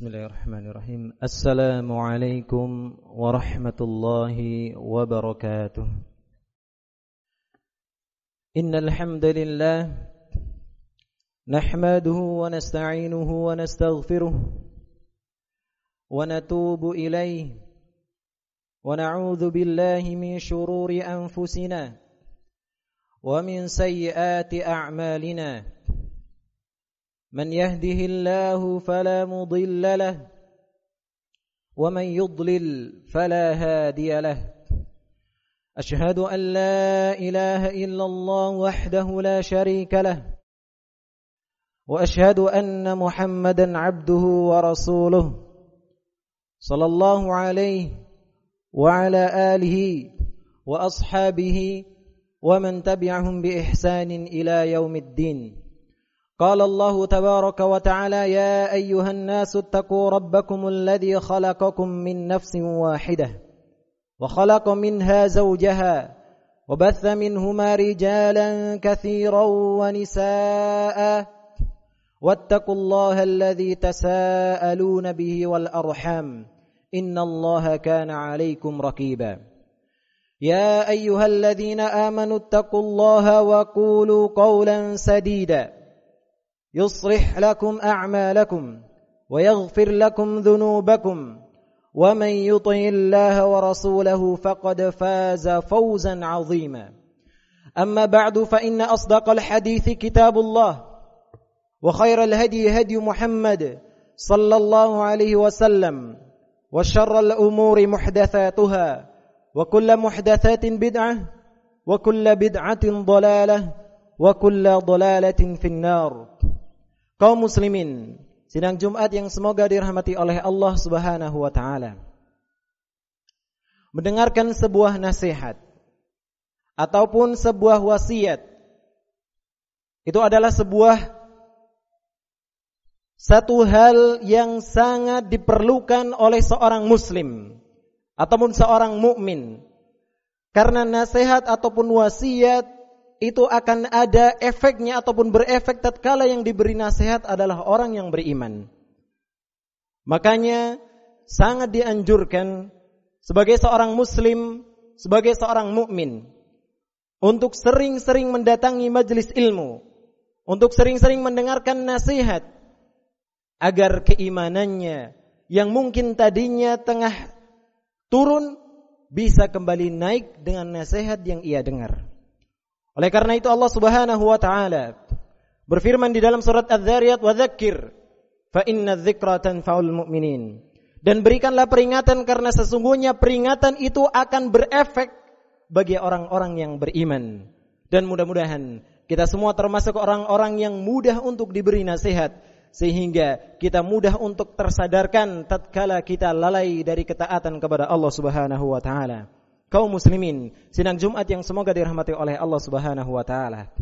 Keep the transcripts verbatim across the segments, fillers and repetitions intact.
Bismillahirrahmanirrahim. Assalamualaikum warahmatullahi wabarakatuh. Innal hamdalillah nahmaduhu wa nasta'inuhu wa nastaghfiruh wa natubu ilayhi wa na'udzu billahi min shururi anfusina wa min sayyiati a'malina. من يهده الله فلا مضل له ومن يضلل فلا هادي له أشهد أن لا إله إلا الله وحده لا شريك له وأشهد أن محمدا عبده ورسوله صلى الله عليه وعلى آله وأصحابه ومن تبعهم بإحسان إلى يوم الدين. قال الله تبارك وتعالى يا أيها الناس اتقوا ربكم الذي خلقكم من نفس واحدة وخلق منها زوجها وبث منهما رجالا كثيرا ونساء واتقوا الله الذي تساءلون به والأرحام إن الله كان عليكم رقيبا يا أيها الذين آمنوا اتقوا الله وقولوا قولا سديدا يصلح لكم أعمالكم ويغفر لكم ذنوبكم ومن يطع الله ورسوله فقد فاز فوزا عظيما أما بعد فإن أصدق الحديث كتاب الله وخير الهدي هدي محمد صلى الله عليه وسلم وشر الأمور محدثاتها وكل محدثات بدعة وكل بدعة ضلالة وكل ضلالة في النار. Kaum muslimin, sidang Jumat yang semoga dirahmati oleh Allah Subhanahu wa taala. Mendengarkan sebuah nasihat ataupun sebuah wasiat itu adalah sebuah satu hal yang sangat diperlukan oleh seorang muslim ataupun seorang mukmin. Karena nasihat ataupun wasiat itu akan ada efeknya ataupun berefek tatkala yang diberi nasihat adalah orang yang beriman. Makanya sangat dianjurkan sebagai seorang muslim, sebagai seorang mukmin untuk sering-sering mendatangi majelis ilmu, untuk sering-sering mendengarkan nasihat agar keimanannya yang mungkin tadinya tengah turun bisa kembali naik dengan nasihat yang ia dengar. Oleh karena itu Allah Subhanahu wa taala berfirman di dalam surat Az-Zariyat, "Wa dzakkir fa inna dzikra tanfa'ul mu'minin." Dan berikanlah peringatan karena sesungguhnya peringatan itu akan berefek bagi orang-orang yang beriman. Dan mudah-mudahan kita semua termasuk orang-orang yang mudah untuk diberi nasihat sehingga kita mudah untuk tersadarkan tatkala kita lalai dari ketaatan kepada Allah Subhanahu wa taala. Kaum muslimin, sidang Jumat yang semoga dirahmati oleh Allah Subhanahu wa taala.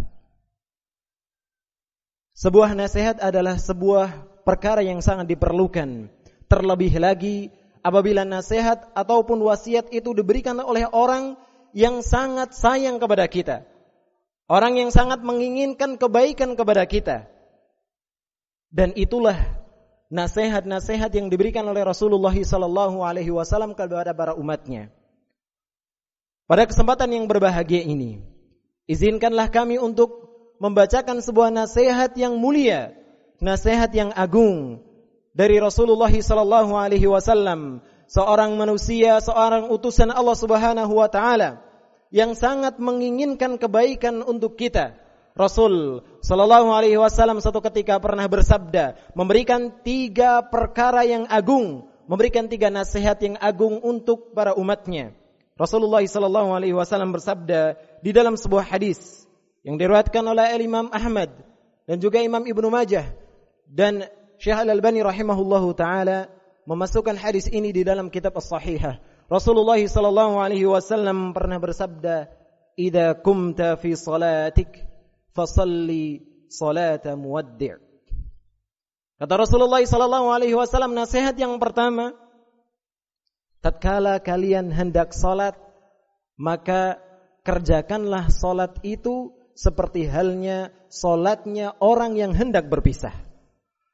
Sebuah nasihat adalah sebuah perkara yang sangat diperlukan. Terlebih lagi apabila nasihat ataupun wasiat itu diberikan oleh orang yang sangat sayang kepada kita. Orang yang sangat menginginkan kebaikan kepada kita. Dan itulah nasihat-nasihat yang diberikan oleh Rasulullah sallallahu alaihi wasallam kepada para umatnya. Pada kesempatan yang berbahagia ini, izinkanlah kami untuk membacakan sebuah nasihat yang mulia, nasihat yang agung dari Rasulullah sallallahu alaihi wasallam, seorang manusia, seorang utusan Allah Subhanahu wa taala yang sangat menginginkan kebaikan untuk kita. Rasul sallallahu alaihi wasallam satu ketika pernah bersabda, memberikan tiga perkara yang agung, memberikan tiga nasihat yang agung untuk para umatnya. Rasulullah sallallahu alaihi wasallam bersabda di dalam sebuah hadis yang diriwayatkan oleh Imam Ahmad dan juga Imam Ibnu Majah dan Syekh Al-Albani rahimahullahu taala memasukkan hadis ini di dalam kitab As-Sahihah. Rasulullah sallallahu alaihi wasallam pernah bersabda, "Idza kumta fi salatik fasalli salata muwaddi'." Kata Rasulullah sallallahu alaihi wasallam, nasihat yang pertama, tatkala kalian hendak salat, maka kerjakanlah salat itu seperti halnya salatnya orang yang hendak berpisah.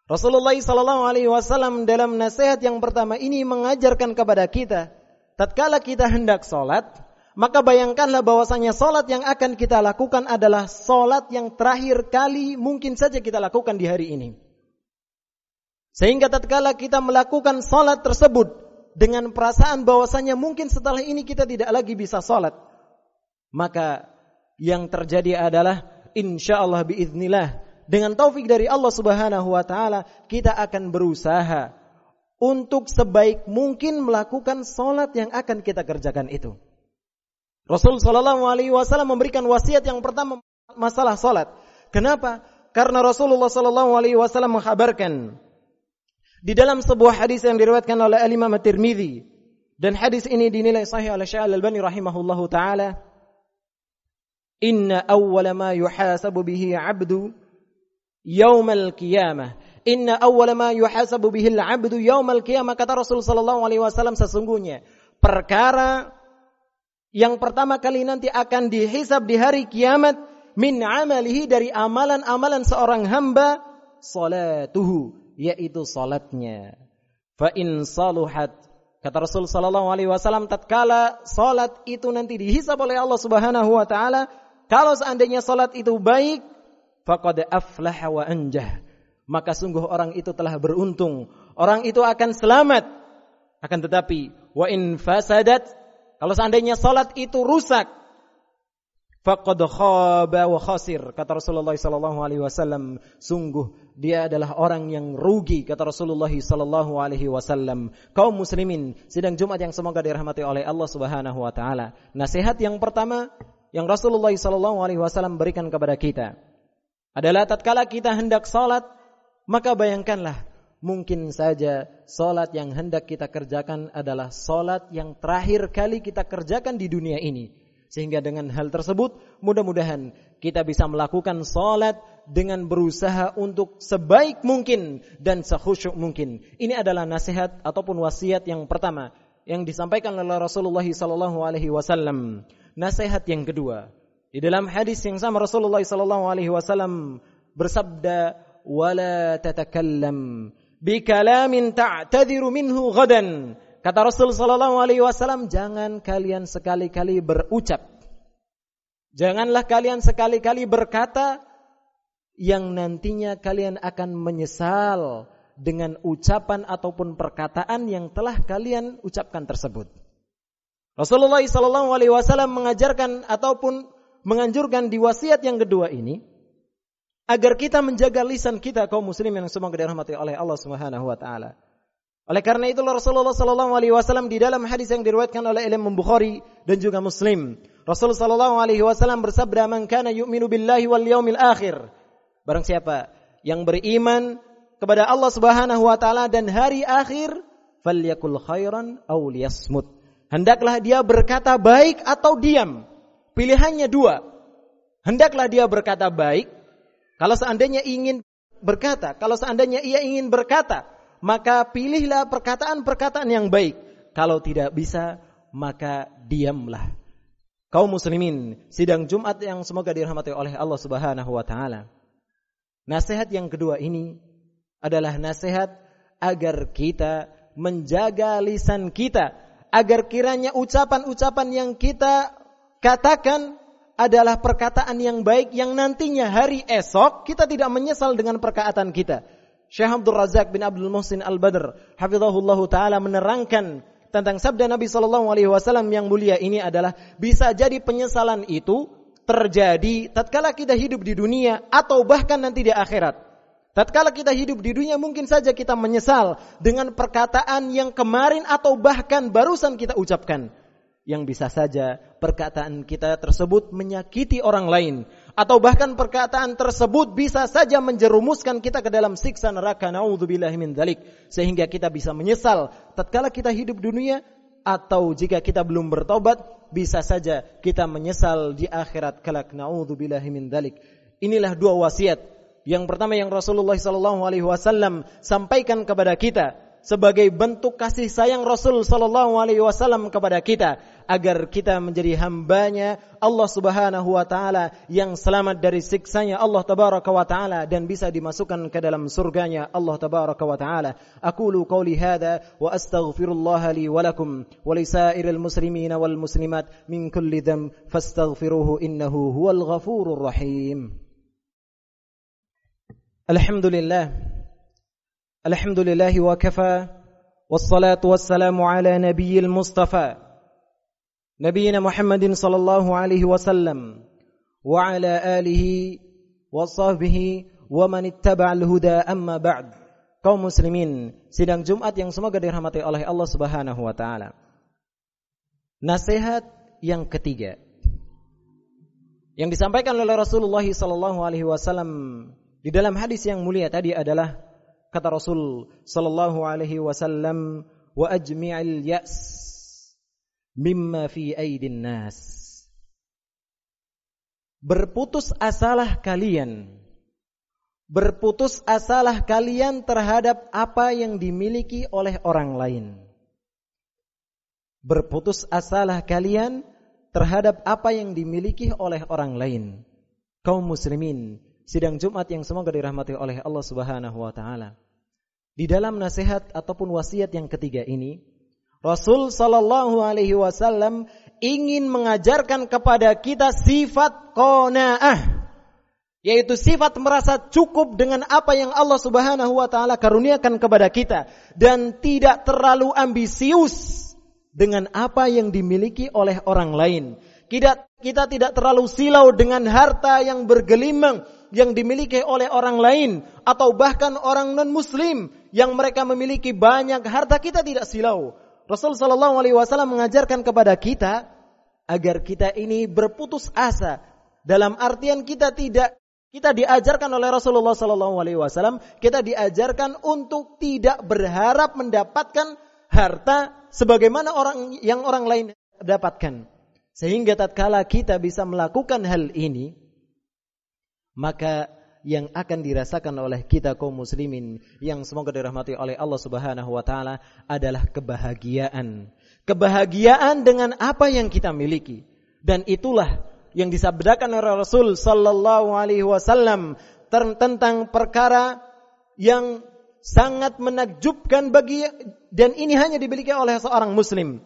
Rasulullah sallallahu alaihi wasallam dalam nasihat yang pertama ini mengajarkan kepada kita, tatkala kita hendak salat, maka bayangkanlah bahwasanya salat yang akan kita lakukan adalah salat yang terakhir kali mungkin saja kita lakukan di hari ini. Sehingga tatkala kita melakukan salat tersebut dengan perasaan bahwasanya mungkin setelah ini kita tidak lagi bisa salat, maka yang terjadi adalah insyaallah biiznillah, dengan taufik dari Allah Subhanahu wa taala, kita akan berusaha untuk sebaik mungkin melakukan salat yang akan kita kerjakan itu. Rasul sallallahu alaihi wasallam memberikan wasiat yang pertama masalah salat. Kenapa? Karena Rasulullah sallallahu alaihi wasallam mengkhabarkan di dalam sebuah hadis yang diriwayatkan oleh Imam At-Tirmidzi, dan hadis ini dinilai sahih oleh Syekh Al-Albani rahimahullahu taala, inna awwala ma yuhasabu bihi 'abdu yaumal qiyamah. Inna awwala ma yuhasabu bihil 'abdu yaumal qiyamah, kata Rasul sallallahu alaihi wasallam, sesungguhnya perkara yang pertama kali nanti akan dihisab di hari kiamat min amalihi, dari amalan-amalan seorang hamba, salatuhu, yaitu salatnya. Fa in saluhat, kata Rasul sallallahu alaihi wasallam, tatkala salat itu nanti dihisab oleh Allah Subhanahu wa taala, kalau seandainya salat itu baik, faqad aflaha wa anjah, maka sungguh orang itu telah beruntung, orang itu akan selamat. Akan tetapi wa in fasadat, kalau seandainya salat itu rusak, faqad khaba wa khasir, kata Rasulullah sallallahu alaihi wasallam, sungguh dia adalah orang yang rugi, kata Rasulullah sallallahu alaihi wasallam. Kaum muslimin sidang Jumat yang semoga dirahmati oleh Allah Subhanahu wa taala, nasihat yang pertama yang Rasulullah sallallahu alaihi wasallam berikan kepada kita adalah tatkala kita hendak salat, maka bayangkanlah mungkin saja salat yang hendak kita kerjakan adalah salat yang terakhir kali kita kerjakan di dunia ini. Sehingga dengan hal tersebut mudah-mudahan kita bisa melakukan salat dengan berusaha untuk sebaik mungkin dan sekhusyuk mungkin. Ini adalah nasihat ataupun wasiat yang pertama yang disampaikan oleh Rasulullah sallallahu alaihi wasallam. Nasihat yang kedua, di dalam hadis yang sama Rasulullah sallallahu alaihi wasallam bersabda, "Wala tatakallam bi kalamin ta'tadiru minhu ghadan." Kata Rasul sallallahu alaihi wasallam, jangan kalian sekali-kali berucap, janganlah kalian sekali-kali berkata yang nantinya kalian akan menyesal dengan ucapan ataupun perkataan yang telah kalian ucapkan tersebut. Rasulullah sallallahu alaihi wasallam mengajarkan ataupun menganjurkan di wasiat yang kedua ini agar kita menjaga lisan kita, kaum muslimin yang semoga dirahmati oleh Allah Subhanahu wa taala. Oleh karena itu Rasulullah sallallahu alaihi wasallam di dalam hadis yang diriwayatkan oleh Imam Bukhari dan juga Muslim, Rasulullah sallallahu alaihi wasallam bersabda, "Man kana yu'minu billahi wal yaumil akhir." Barang siapa yang beriman kepada Allah Subhanahu wa taala dan hari akhir, falyakul khairan aw liyasmut. Hendaklah dia berkata baik atau diam. Pilihannya dua. Hendaklah dia berkata baik. Kalau seandainya ingin berkata, kalau seandainya ia ingin berkata, maka pilihlah perkataan-perkataan yang baik. Kalau tidak bisa, maka diamlah. Kaum muslimin, sidang Jumat yang semoga dirahmati oleh Allah Subhanahu wa taala. Nasihat yang kedua ini adalah nasihat agar kita menjaga lisan kita, agar kiranya ucapan-ucapan yang kita katakan adalah perkataan yang baik, yang nantinya hari esok kita tidak menyesal dengan perkataan kita. Syekh Abdul Razak bin Abdul Muhsin Al-Badr hafizahullahu taala menerangkan tentang sabda Nabi sallallahu alaihi wasallam yang mulia ini adalah, bisa jadi penyesalan itu terjadi tatkala kita hidup di dunia atau bahkan nanti di akhirat. Tatkala kita hidup di dunia mungkin saja kita menyesal dengan perkataan yang kemarin atau bahkan barusan kita ucapkan. Yang bisa saja perkataan kita tersebut menyakiti orang lain, atau bahkan perkataan tersebut bisa saja menjerumuskan kita ke dalam siksa neraka, naudzubillahi min dzalik, sehingga kita bisa menyesal tatkala kita hidup di dunia, atau jika kita belum bertobat bisa saja kita menyesal di akhirat kelak, naudzubillahi min dzalik. Inilah dua wasiat. Yang pertama yang Rasulullah sallallahu alaihi wasallam sampaikan kepada kita sebagai bentuk kasih sayang Rasul sallallahu alaihi wasallam kepada kita agar kita menjadi hambanya Allah Subhanahu wa taala yang selamat dari siksanya Allah tabaraka wa taala dan bisa dimasukkan ke dalam surganya Allah tabaraka wa taala. Aqulu qawli hadza wa astaghfirullah li wa lakum wa lisairil muslimin wal muslimat min kulli dhanb fastaghfiruhu innahu huwal ghafurur rahim. Alhamdulillah الحمد لله وكفى والصلاة والسلام على نبي المصطفى نبينا محمد صلى الله عليه وسلم وعلى آله وصحبه ومن اتبع الهدى أما بعد. Kaum muslimin, sidang Jumat yang semoga dirahmati oleh Allah Subhanahu wa taala. Nasihat yang ketiga yang disampaikan oleh Rasulullah sallallahu alaihi wasallam di dalam hadis yang mulia tadi adalah kata Rasul sallallahu alaihi wasallam, wa ajmi'il ya's mimma fi aidin nas. Berputus asalah kalian. Berputus asalah kalian terhadap apa yang dimiliki oleh orang lain. Berputus asalah kalian terhadap apa yang dimiliki oleh orang lain. Kaum muslimin, sidang Jumat yang semoga dirahmati oleh Allah Subhanahu wa taala. Di dalam nasihat ataupun wasiat yang ketiga ini, Rasul sallallahu alaihi wasallam ingin mengajarkan kepada kita sifat qanaah, yaitu sifat merasa cukup dengan apa yang Allah Subhanahu wa taala karuniakan kepada kita dan tidak terlalu ambisius dengan apa yang dimiliki oleh orang lain. Kita, kita tidak terlalu silau dengan harta yang bergelimang yang dimiliki oleh orang lain atau bahkan orang non-muslim yang mereka memiliki banyak harta. Kita tidak silau. Rasul sallallahu alaihi wasallam mengajarkan kepada kita agar kita ini berputus asa, dalam artian kita tidak kita diajarkan oleh Rasulullah sallallahu alaihi wasallam, kita diajarkan untuk tidak berharap mendapatkan harta sebagaimana orang yang orang lain dapatkan. Sehingga tatkala kita bisa melakukan hal ini, maka yang akan dirasakan oleh kita kaum muslimin yang semoga dirahmati oleh Allah Subhanahu wa taala adalah kebahagiaan. Kebahagiaan dengan apa yang kita miliki. Dan itulah yang disabdakan oleh Rasul sallallahu alaihi wasallam tentang perkara yang sangat menakjubkan bagi, dan ini hanya dimiliki oleh seorang muslim.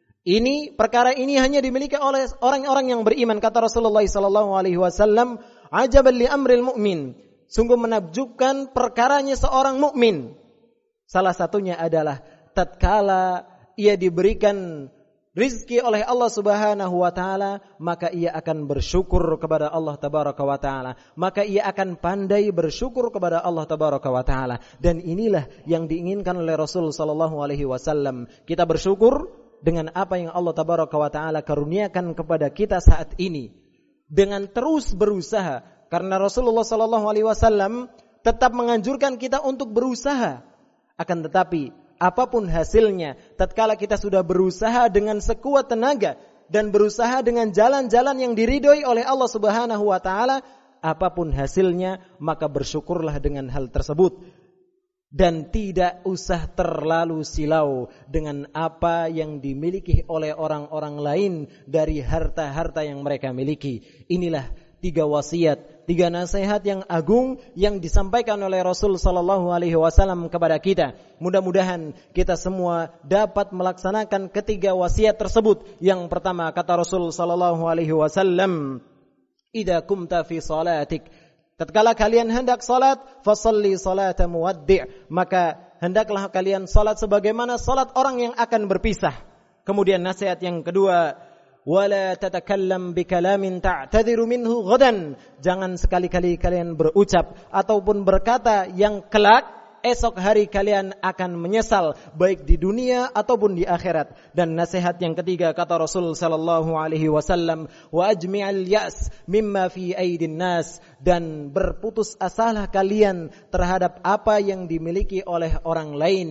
Ini perkara ini hanya dimiliki oleh orang-orang yang beriman. Kata Rasulullah sallallahu alaihi wasallam, ajaban li amril mu'min. Sungguh menakjubkan perkaranya seorang mukmin. Salah satunya adalah tatkala ia diberikan rizki oleh Allah Subhanahu wa taala, maka ia akan bersyukur kepada Allah tabaraka wa taala. Maka ia akan pandai bersyukur kepada Allah tabaraka wa taala. Dan inilah yang diinginkan oleh Rasul sallallahu alaihi wasallam. Kita bersyukur dengan apa yang Allah tabaraka wa taala karuniakan kepada kita saat ini, dengan terus berusaha, karena Rasulullah sallallahu alaihi wasallam tetap menganjurkan kita untuk berusaha. Akan tetapi apapun hasilnya, tatkala kita sudah berusaha dengan sekuat tenaga dan berusaha dengan jalan-jalan yang diridhoi oleh Allah Subhanahu wa taala, apapun hasilnya maka bersyukurlah dengan hal tersebut. Dan tidak usah terlalu silau dengan apa yang dimiliki oleh orang-orang lain dari harta-harta yang mereka miliki. Inilah tiga wasiat, tiga nasihat yang agung yang disampaikan oleh Rasul sallallahu alaihi wasallam kepada kita. Mudah-mudahan kita semua dapat melaksanakan ketiga wasiat tersebut. Yang pertama, kata Rasul sallallahu alaihi wasallam, "Idza kumta fi salatik", tatkala kalian hendak salat, fasalli salata muwaddi', maka hendaklah kalian salat sebagaimana salat orang yang akan berpisah. Kemudian nasihat yang kedua, wala tatakallam bikalamin ta'tadhiru minhu ghadan, jangan sekali-kali kalian berucap ataupun berkata yang kelak esok hari kalian akan menyesal, baik di dunia ataupun di akhirat. Dan nasihat yang ketiga, kata Rasul sallallahu alaihi wasallam, wa ajmi'al ya's mimma fi aidin nas, dan berputus asalah kalian terhadap apa yang dimiliki oleh orang lain.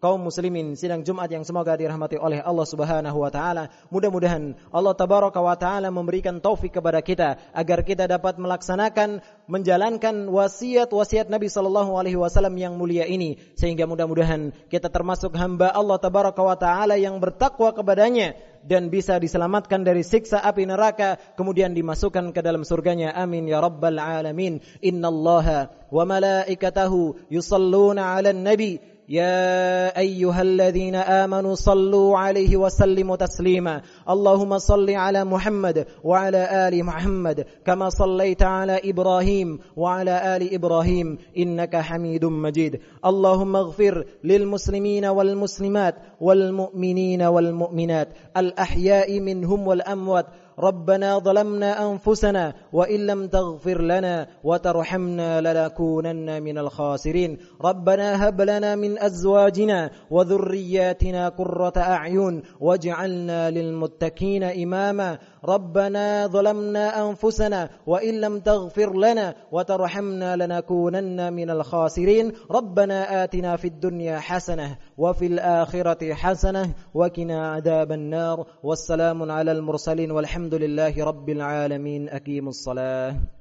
kaum muslimin sidang Jumat yang semoga dirahmati oleh Allah Subhanahu wa taala. Mudah-mudahan Allah tabaraka wa taala memberikan taufik kepada kita agar kita dapat melaksanakan menjalankan wasiat-wasiat Nabi sallallahu alaihi wasallam yang mulia ini, sehingga mudah-mudahan kita termasuk hamba Allah tabaraka wa taala yang bertakwa kepadanya dan bisa diselamatkan dari siksa api neraka kemudian dimasukkan ke dalam surganya. Amin ya rabbal alamin. Innallaha wa malaikatahu yusalluna 'alan nabi يا أيها الذين آمنوا صلوا عليه وسلموا تسليما اللهم صل على محمد وعلى آل محمد كما صليت على إبراهيم وعلى آل إبراهيم إنك حميد مجيد اللهم اغفر للمسلمين والمسلمات والمؤمنين والمؤمنات الأحياء منهم والأموات ربنا ظلمنا أنفسنا وإن لم تغفر لنا وترحمنا لنكونن من الخاسرين ربنا هب لنا من أزواجنا وذرياتنا قرة أعين واجعلنا للمتقين إماما ربنا ظلمنا أنفسنا وإن لم تغفر لنا وترحمنا لنكونن من الخاسرين ربنا آتنا في الدنيا حسنة وفي الآخرة حسنة وقنا عذاب النار والسلام على المرسلين والحمد لله رب العالمين. أقيموا الصلاة.